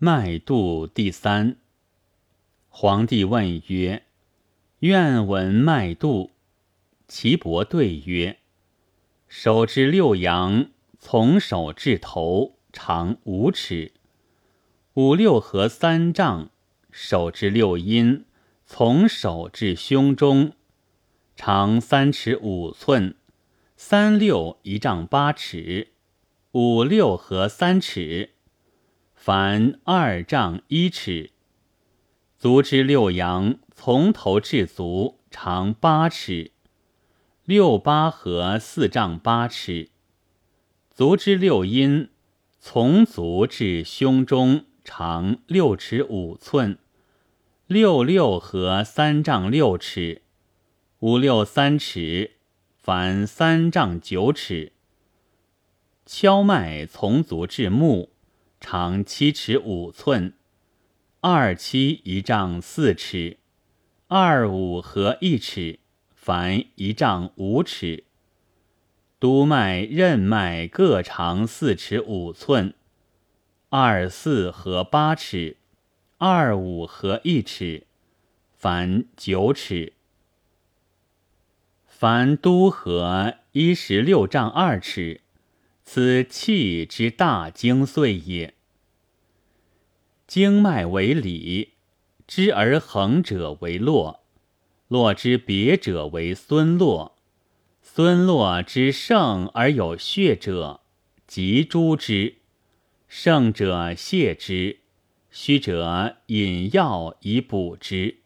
脉度第三。皇帝问曰：愿闻脉度。岐伯对曰：手之六阳，从手至头，长5尺；五六合3丈。手之六阴，从手至胸中，长3尺5寸；三六1丈8尺，五六合3尺，凡2丈1尺。足之六阳，从头至足，长8尺；六八合4丈8尺。足之六阴，从足至胸中，长6尺5寸；六六合3丈6尺，五六3尺，凡3丈9尺。荞脉从足至目，长7尺5寸；二七1丈4尺，二五合1尺，凡1丈5尺。督脉、任脉各长4尺5寸，二四合8尺，二五合1尺，凡9尺。凡督合16丈2尺，此气之大精髓也。经脉为里，知而横者为络，络之别者为孙络，孙络之盛而有血者，即诸之。盛者泻之，虚者饮药以补之。